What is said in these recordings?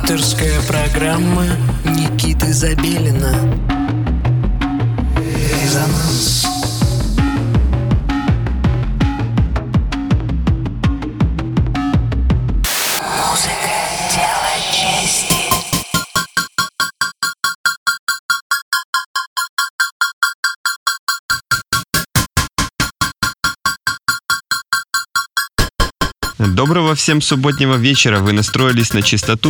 Авторская программа Никиты Забелина. Резонанс. Музыка — дело чести. Доброго всем субботнего вечера. Вы настроились на частоту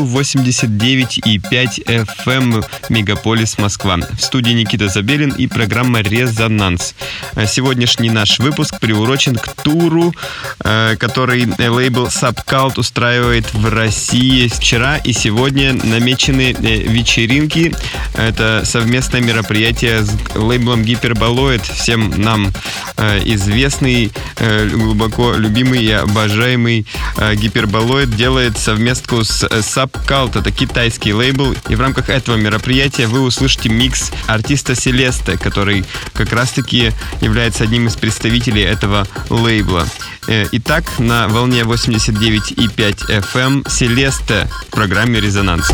89,5 FM Мегаполис Москва. В студии Никита Забелин и программа «Резонанс». Сегодняшний наш выпуск приурочен к туру, который лейбл Subcult устраивает в России. Вчера и сегодня намечены вечеринки. Это совместное мероприятие с лейблом Hyperboloid, всем нам известный, глубоко любимый и обожаемый Hyperboloid делает совместку с Subcult. Это китайский лейбл. И в рамках этого мероприятия вы услышите микс артиста Селесте, который как раз-таки является одним из представителей этого лейбла. Итак, на волне 89,5 FM Селесте в программе «Резонанс».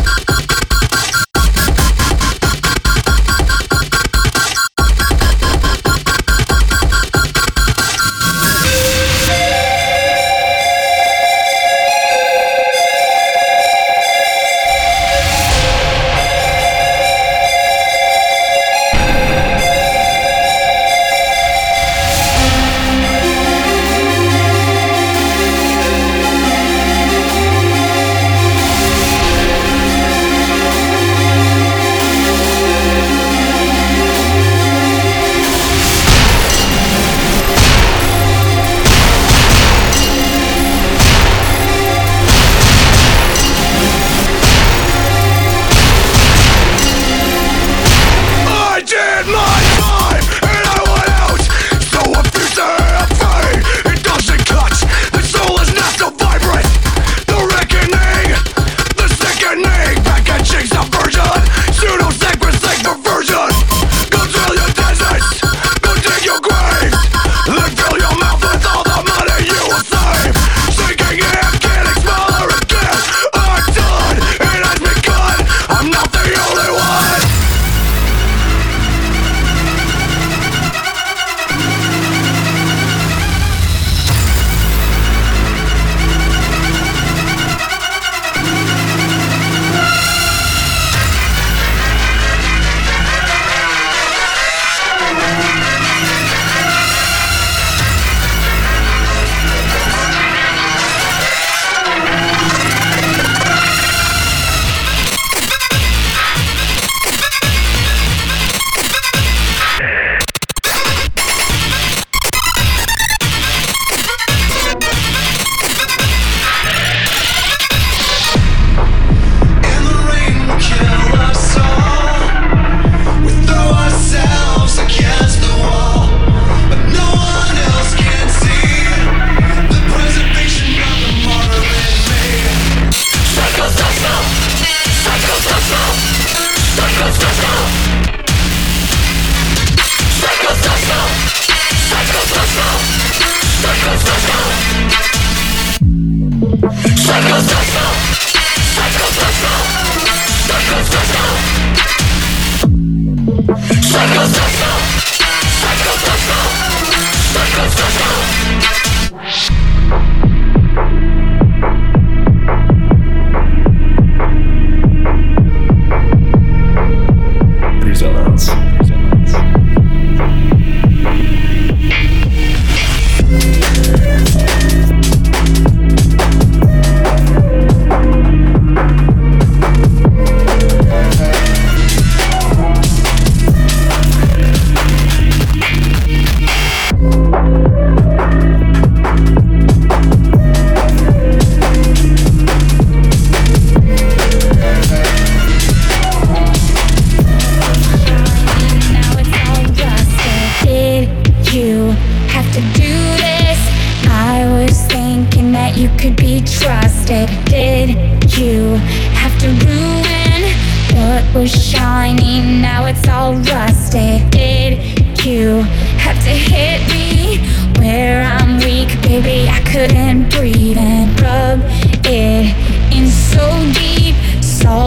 Couldn't breathe and rub it in so deep. So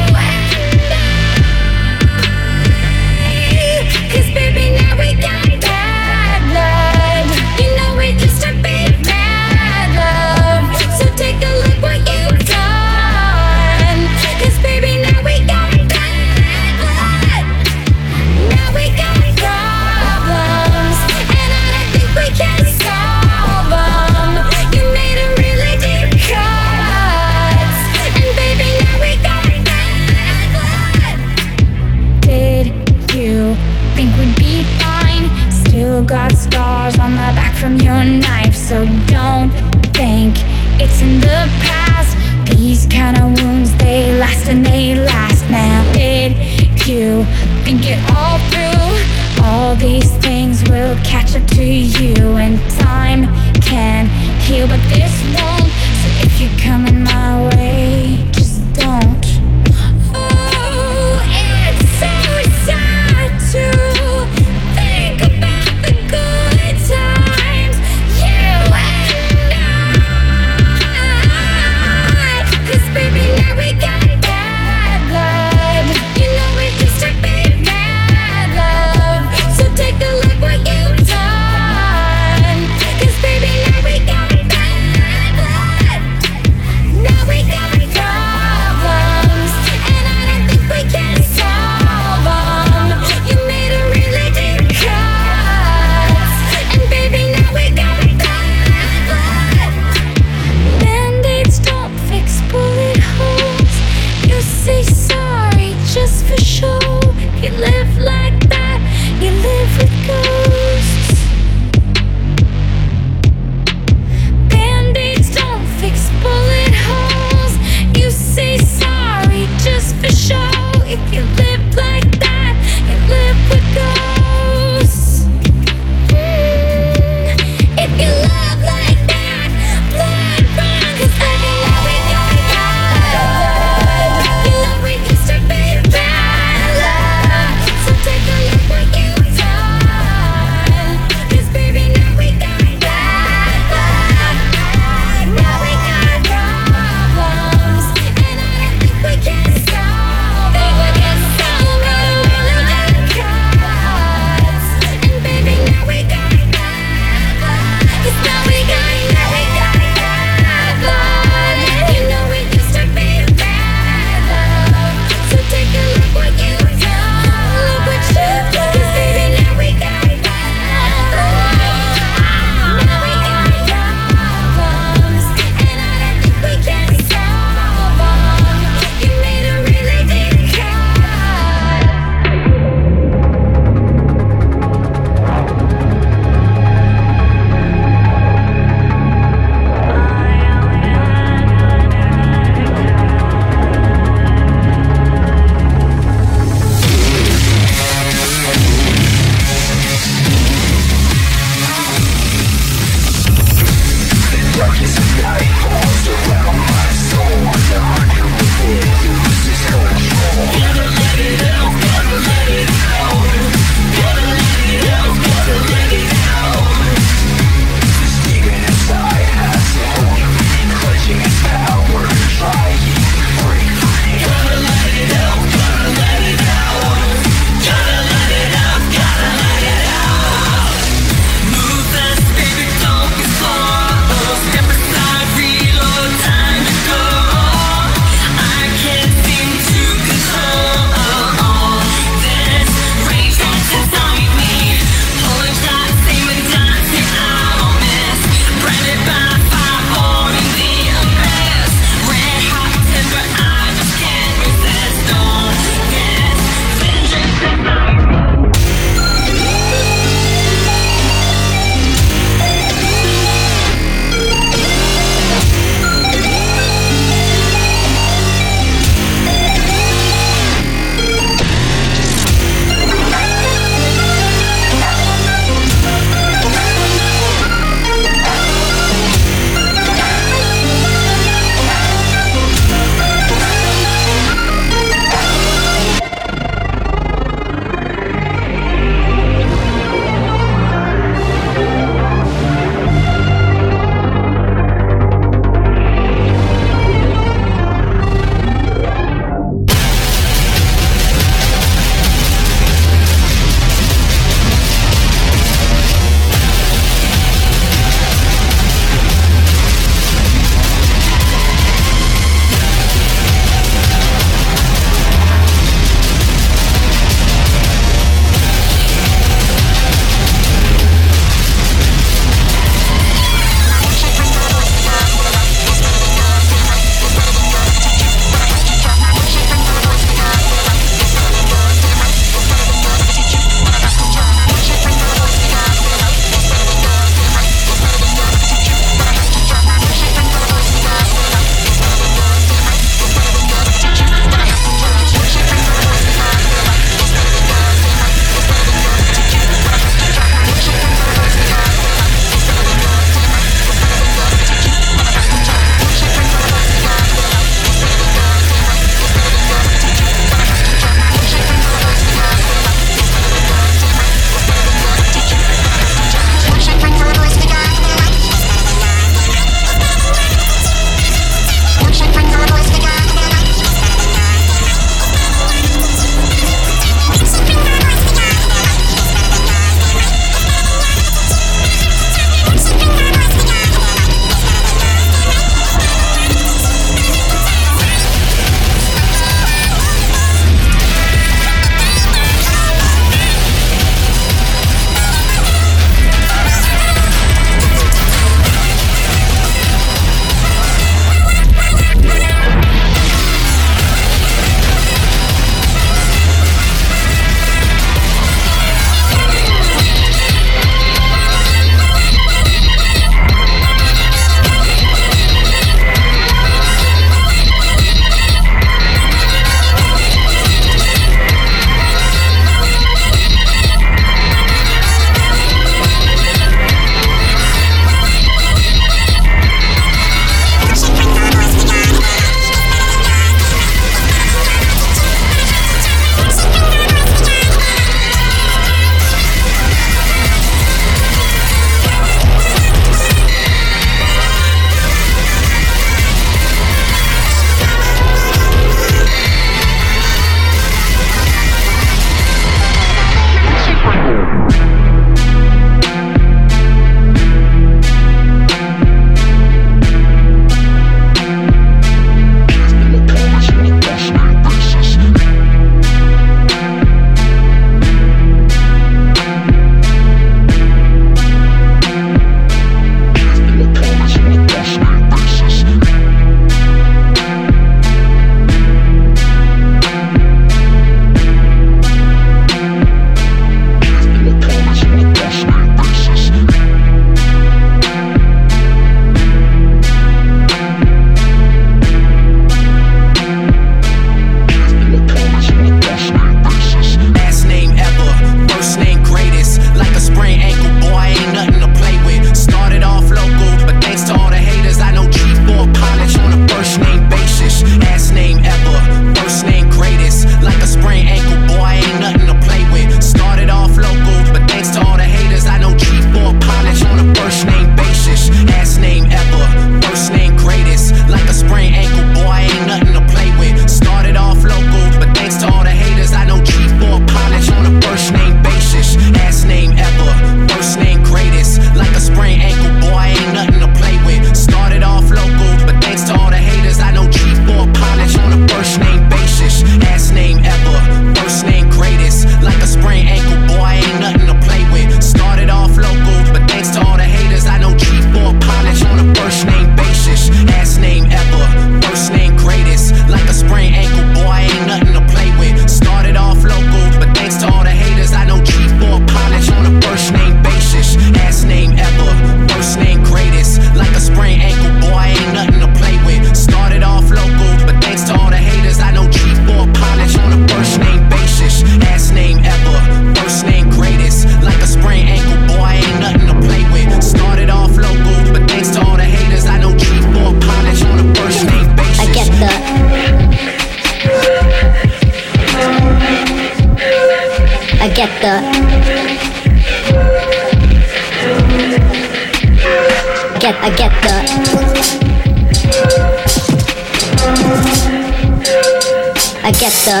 the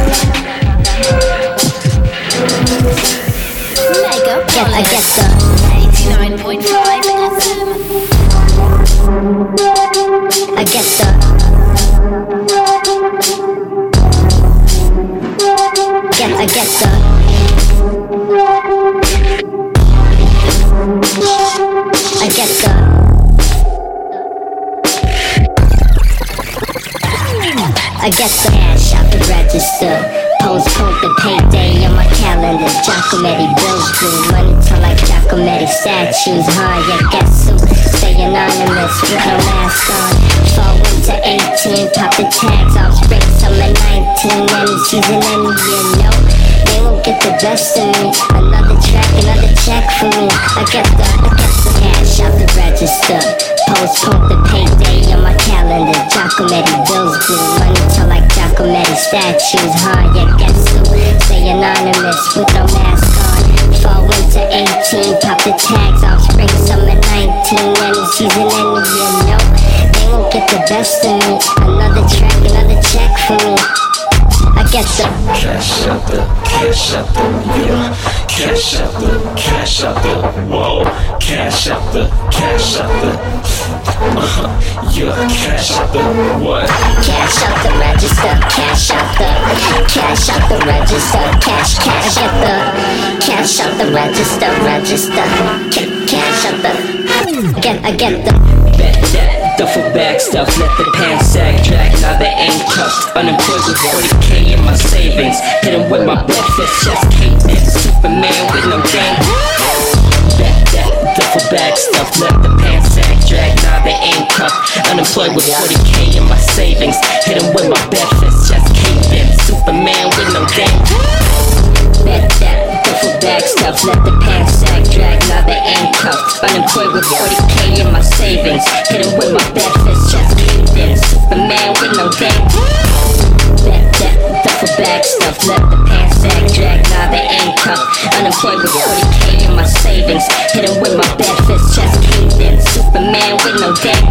I get the 89.5 FM. I get the I get the I get the I get the cash out the register. Postpone the payday on my calendar. Giacometti bills blue. Money till like Giacometti statues. Yeah, guess who? Stay anonymous with no mask on. Fall winter 18, pop the tags off. Spring summer 19, any season, any year, no. They won't get the best of me. Another track, another check for me. I get the cash out the register. Postpone the payday on my calendar. Giacometti bills blue. Money till like Giacometti statues. Yeah, guess who? Stay anonymous with no mask on. Fall winter 18, pop the tags off. Spring summer 19, any season, any year, no. They won't get the best of me. Another track, another check for me. I get the cash out the, yeah. Cash out the, whoa. Cash out the, yeah. Cash out the, what? cash out the register, cash out the register, cash at the cash out the register, cash out the I get the that duffel bag stuff, let the pants sag drag, now they ain't cuffed. Unemployed with 40K in my savings, hit 'em with my breakfast, just cake and Superman with no game. That duffel bag stuff, let the pants sag drag, now they ain't cuffed. Unemployed with 40K in my savings, hit 'em with my breakfast, just cake and Superman with no game. That duffel bag stuff, let the pants sag drag, now they ain't cuffed. Unemployed with 40K in my savings, hit 'em with my breakfast, just cake and Superman with no game. That duffel bag stuff, let the pants sag drag, now they ain't cuffed. Unemployed with 40K in my savings, hit 'em with my breakfast, just cake and Superman with no game.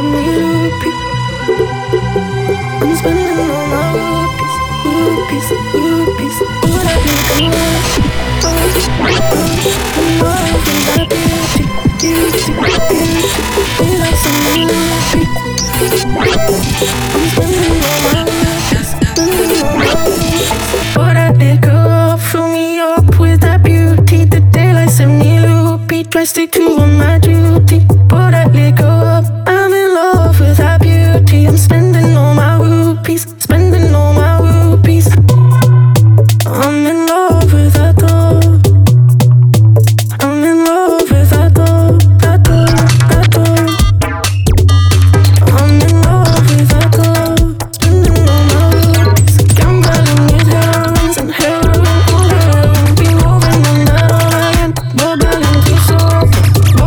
rupees. I'm spending all my rupees. Would I be good? Stick to on my duty, but I let go up. I'm in love with that beauty. I'm spending all my rupees, spending all my rupees. I'm in love with that door. I'm in love with that door, that door, that door. I'm in love with that door. Spending all my rupees, gambling with heroines and heroin, all heroin. Be moving on that all again, bubbling too soft.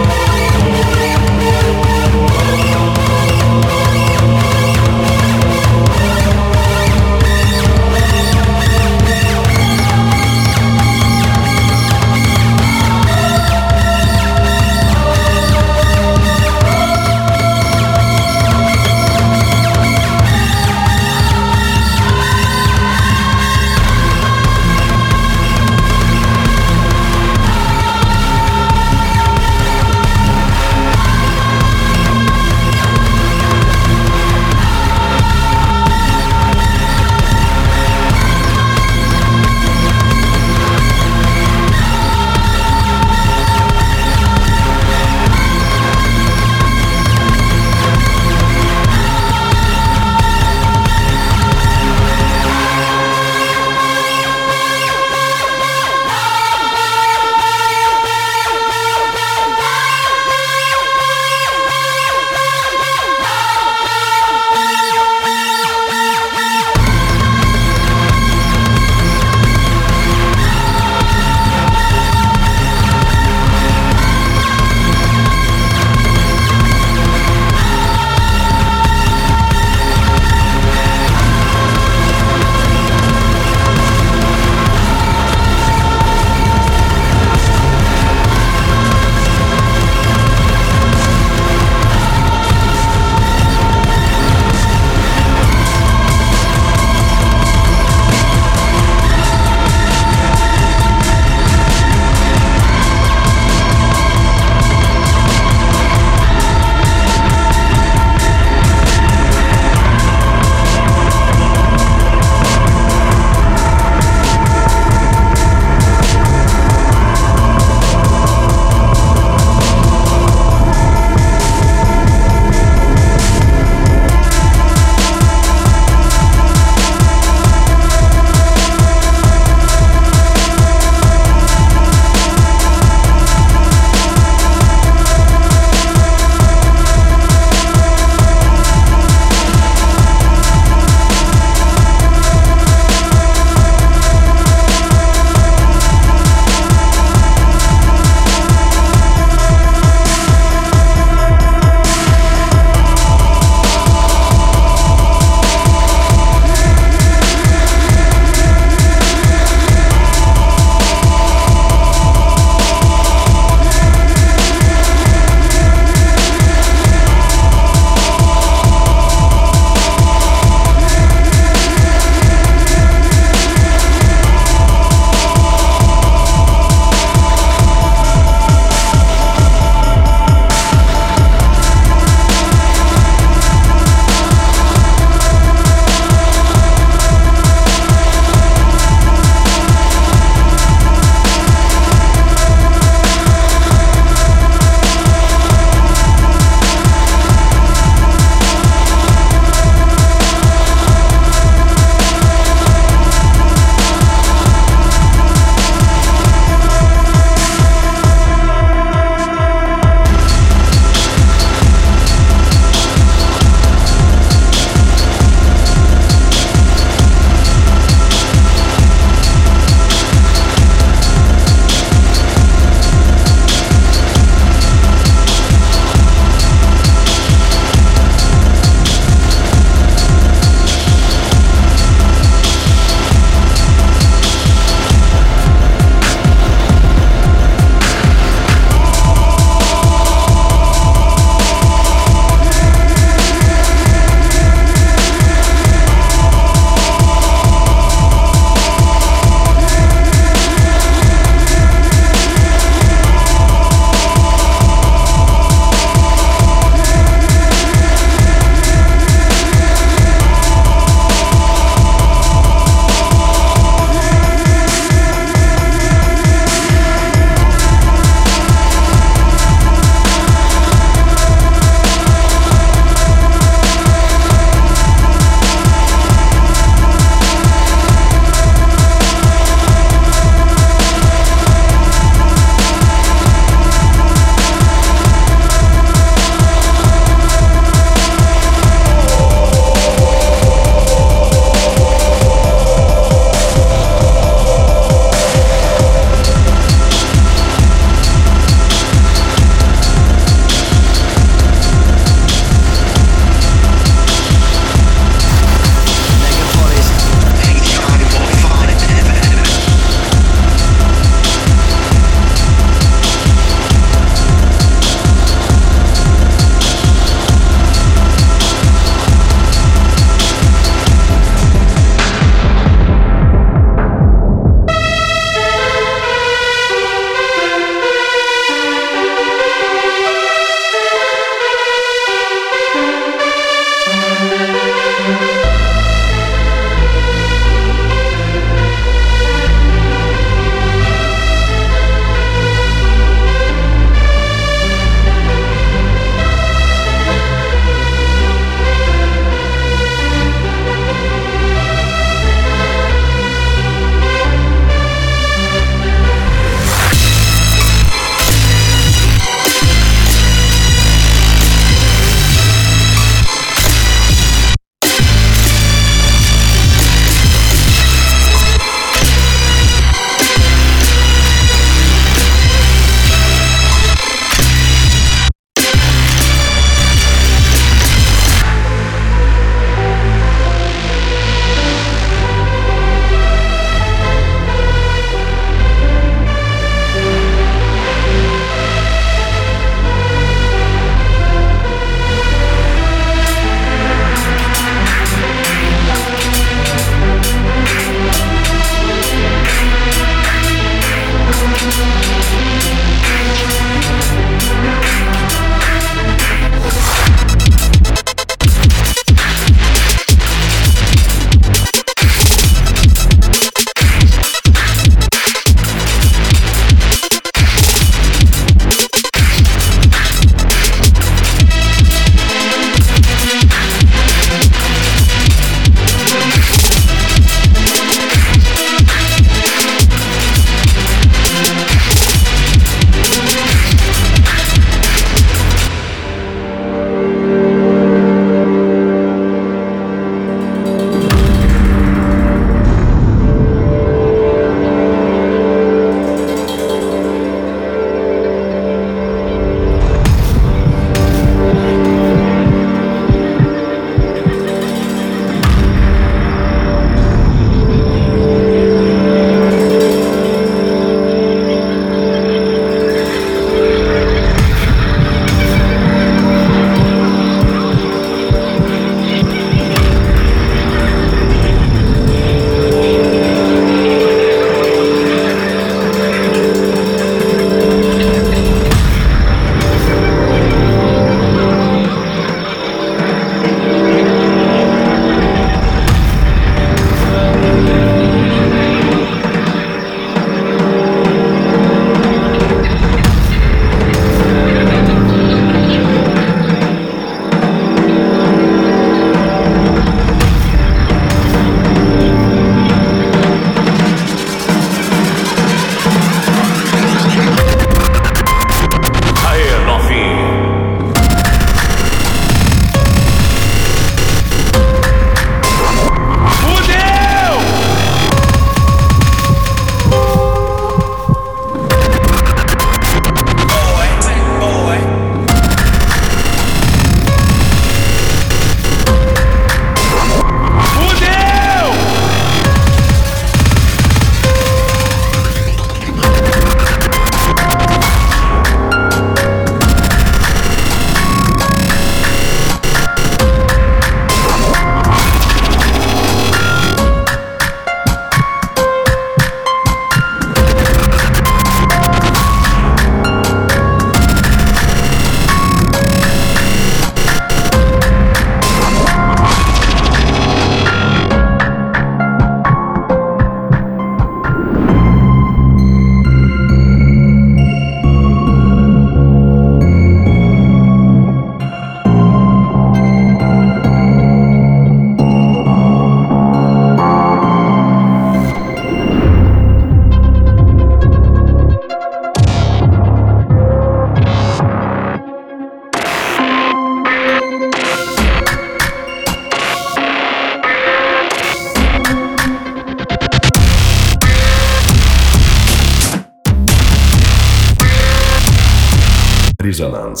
Резонанс.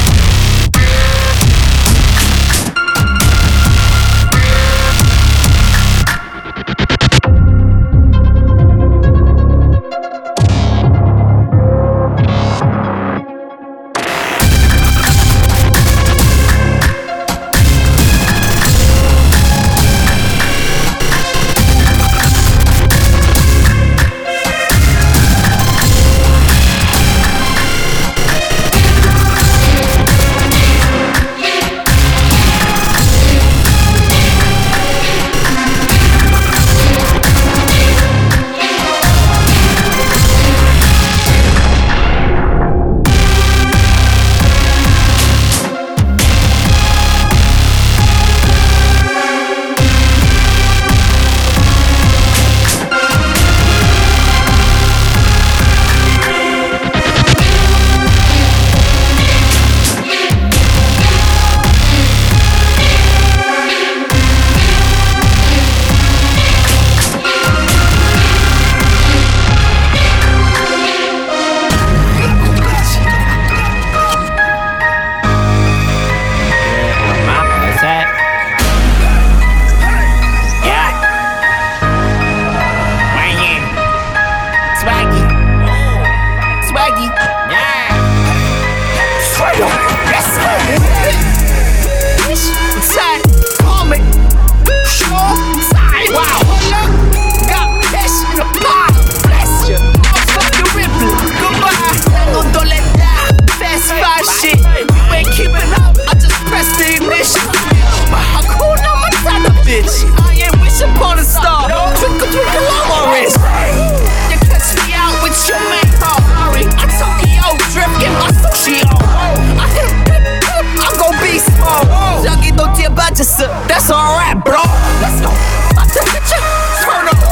That's alright, bro. Let's go. I take a chip, turn up.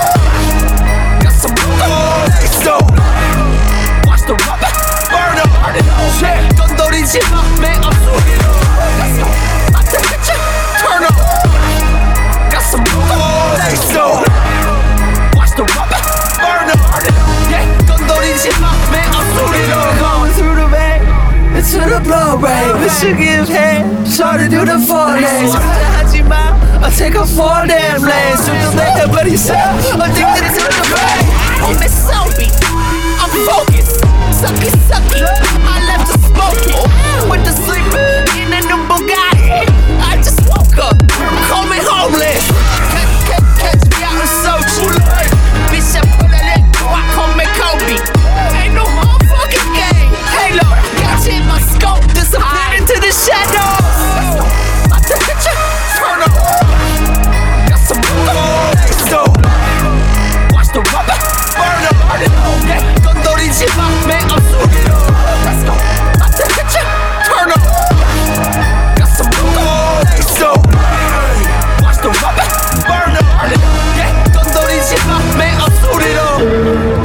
Got some so watch the rubber burn up. Shit, 건드리지 마, man, I'm sorry. Let's go. I take a chip, turn up. Got some so watch the rubber burn up. Yeah, 건드리지 마, man, I'm sorry. Going through the vein, into the blood-brain. We should give head, try to do the 4 days. I take a 4 damn lanes. Do the make but he said addicted to the pain. On this selfie, I'm focused. Sucky, sucky, I left to smoke it. With the sleeper in a new Bugatti. I just woke up, call me homeless. Catch me out in Sochi. Bitch, I put a leg, I call me Kobe. Ain't no motherfucking game. Halo, got you in my scope, disappeared into the shadows. I took a chip, turn up. So watch the rubber burn up. Yeah, 건드리지 마, man, I'm sorry. Let's go. I take a chip, turn up. Got some so watch the rubber burn up. Yeah, 건드리지 마, man, I'm sorry.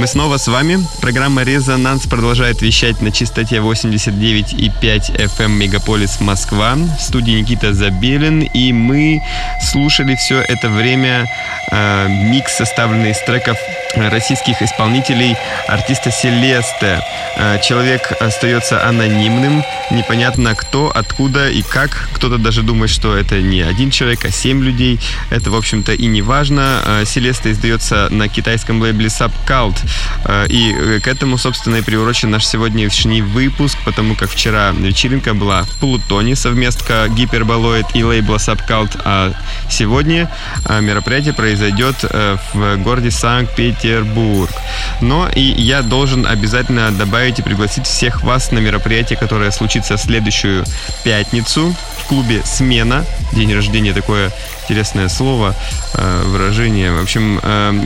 мы снова с вами. Программа «Резонанс» продолжает вещать на частоте 89,5 FM Мегаполис Москва. В студии Никита Забелин. И мы слушали все это время микс, составленный из треков российских исполнителей артиста Селесте. Человек остается анонимным. Непонятно кто, откуда и как. Кто-то даже думает, что это не один человек, а 7 людей. Это, в общем-то, и не важно. Селесте издается на китайском лейбле Subcult. И к этому, собственно, и приурочен наш сегодняшний выпуск, потому как вчера вечеринка была в Плутоне, совместка Гиперболоид и лейбла Subcult, а сегодня мероприятие произойдет в городе Санкт-Петербург. Но и я должен обязательно добавить и пригласить всех вас на мероприятие, которое случится в следующую пятницу в клубе «Смена». День рождения — такое интересное слово, выражение. В общем,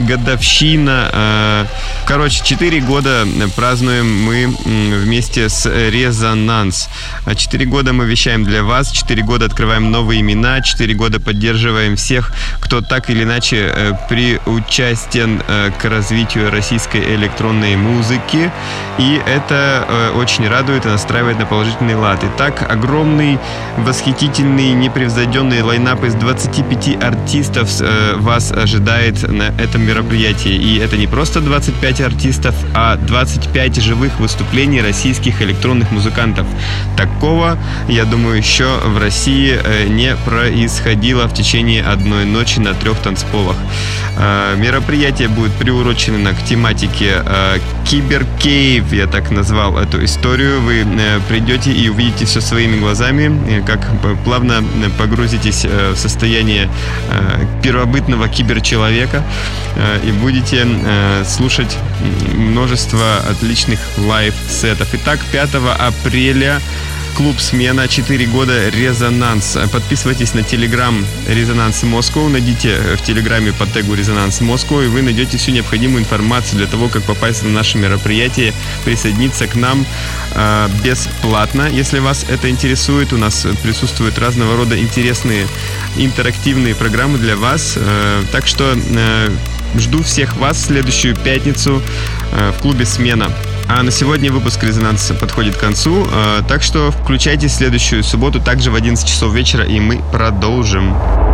годовщина. Короче, 4 года празднуем мы вместе с «Резонанс». 4 года мы вещаем для вас, 4 года открываем новые имена, 4 года поддерживаем всех, кто так или иначе приучастен к развитию российской электронной музыки. И это очень радует и настраивает на положительный лад. Итак, огромный, восхитительный, непревзойденный лайнап из 25 артистов вас ожидает на этом мероприятии. И это не просто 25 артистов, а 25 живых выступлений российских электронных музыкантов. Такого, я думаю, еще в России не происходило в течение одной ночи на 3 танцполах. Мероприятие будет приурочено к тематике Киберкейв, я так назвал эту историю. Вы придете и увидите все своими глазами, как плавно погрузитесь в состояние первобытного киберчеловека и будете слушать множество отличных лайв-сетов. Итак, 5 апреля клуб «Смена», 4 года «Резонанс». Подписывайтесь на телеграм «Резонанс Москва», найдите в телеграме по тегу «Резонанс Москва», и вы найдете всю необходимую информацию для того, как попасть на наше мероприятие, присоединиться к нам бесплатно. Если вас это интересует, у нас присутствуют разного рода интересные интерактивные программы для вас. Так что жду всех вас в следующую пятницу в клубе «Смена». А на сегодня выпуск «Резонанса» подходит к концу, так что включайте следующую субботу также в 11 часов вечера, и мы продолжим.